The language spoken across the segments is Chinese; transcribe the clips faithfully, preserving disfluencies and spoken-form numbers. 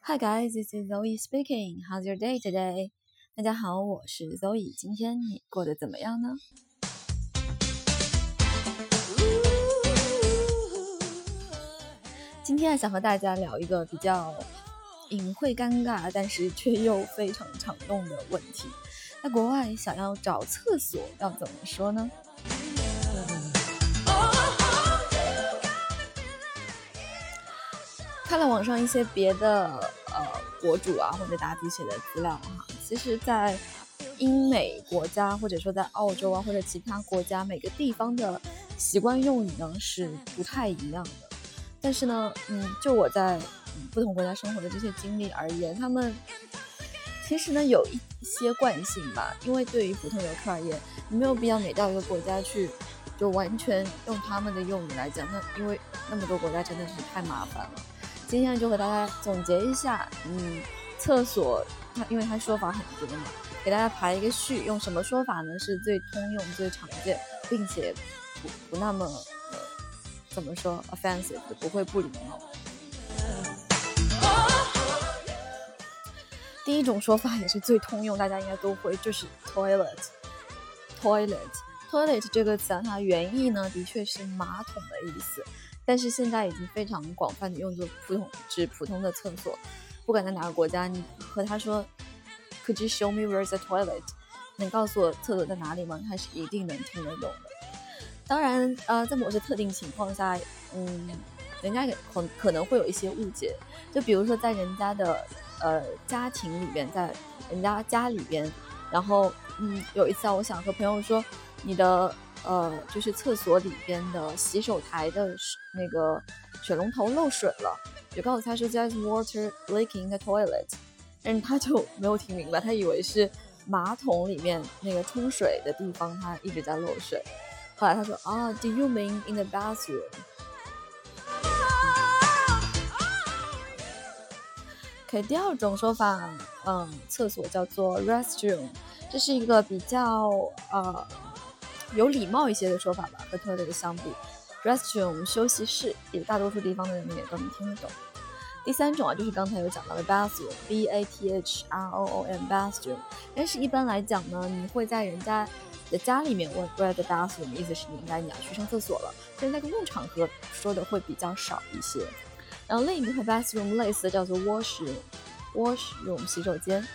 Hi guys, this is Zoe speaking. How's your day today? 大家好，我是 Zoe。今天你过得怎么样呢？今天想和大家聊一个比较隐晦尴尬，但是却又非常常用的问题。在国外想要找厕所要怎么说呢？看了网上一些别的呃博主啊或者答题写的资料哈，其实在英美国家或者说在澳洲啊或者其他国家，每个地方的习惯用语呢是不太一样的。但是呢，嗯，就我在、嗯、不同国家生活的这些经历而言，他们其实呢有一些惯性吧。因为对于普通游客而言，你没有必要每到一个国家去就完全用他们的用语来讲，那因为那么多国家真的是太麻烦了。今天就和大家总结一下，嗯，厕所它因为它说法很多嘛，给大家排一个序，用什么说法呢是最通用、最常见，并且不不那么呃怎么说 offensive 的，不会不礼貌。第一种说法也是最通用，大家应该都会，就是 toilet toilet toilet 这个词啊，它原意呢的确是马桶的意思。但是现在已经非常广泛的用作普通指普通的厕所，不管在哪个国家，你和他说 Could you show me where's the toilet？ 能告诉我厕所在哪里吗？他是一定能听得懂的。当然，呃，在某些特定情况下，嗯，人家可可能会有一些误解，就比如说在人家的呃家庭里边，在人家家里边，然后嗯，有一次啊，我想和朋友说，你的。呃，就是厕所里边的洗手台的那个水龙头漏水了，就告诉他说 There's water leaking in the toilet， 但是他就没有听明白，他以为是马桶里面那个冲水的地方它一直在漏水。后来他说啊 Do you mean in the bathroom？ OK， 第二种说法，嗯，厕所叫做 restroom， 这是一个比较呃有礼貌一些的说法吧，和 toilet 相比 restroom 休息室也大多数地方的人也都能听得懂。第三种啊，就是刚才有讲到的 bathroom B A T H R O O M bathroom， 但是一般来讲呢，你会在人家的家里面问 where the bathroom， 意思是你应该你要去上厕所了，但是在公共场合说的会比较少一些。然后另一个和 bathroom 类似的叫做 washroom washroom 洗手间。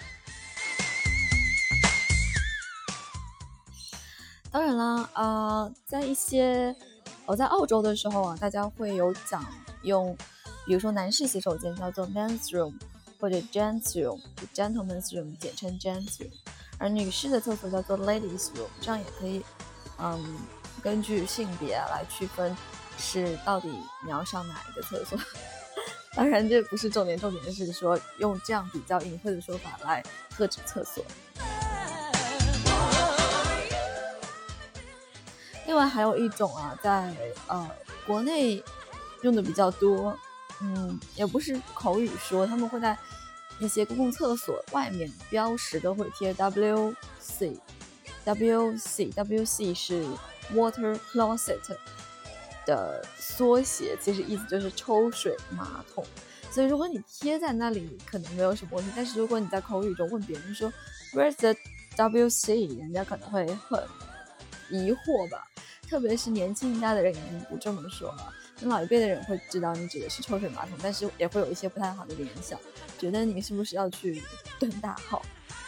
当然啦，呃，在一些我、哦、在澳洲的时候啊，大家会有讲用，比如说男士洗手间叫做 men's room 或者 gents room， gentleman's room 简称 gents room， 而女士的厕所叫做 ladies room， 这样也可以，嗯，根据性别啊来区分是到底你要上哪一个厕所。当然这不是重点，重点是说用这样比较隐晦的说法来特指厕所。另外还有一种啊，在呃国内用的比较多，嗯，也不是口语说，他们会在那些公共厕所外面标识都会贴 W C W C W C 是 Water Closet 的缩写，其实意思就是抽水马桶。所以如果你贴在那里可能没有什么问题，但是如果你在口语中问别人说 Where's the W C， 人家可能会很疑惑吧。特别是年轻一代的人已经不这么说了，老一辈的人会知道你指的是抽水马桶，但是也会有一些不太好的联想，觉得你是不是要去蹲大号。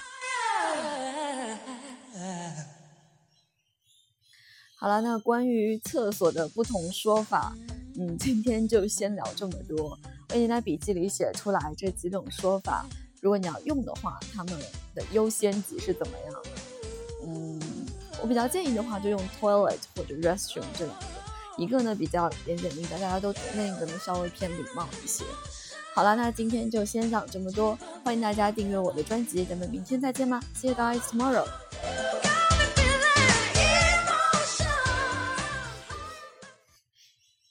好了，那关于厕所的不同说法，嗯，今天就先聊这么多。我已经在笔记里写出来这几种说法，如果你要用的话，他们的优先级是怎么样的？嗯。我比较建议的话就用 toilet 或者 restroom 这两个，一个呢比较简简明白大家都懂，另一个呢稍微偏礼貌一些。好了，那今天就先讲这么多，欢迎大家订阅我的专辑，咱们明天再见吧， See you guys tomorrow。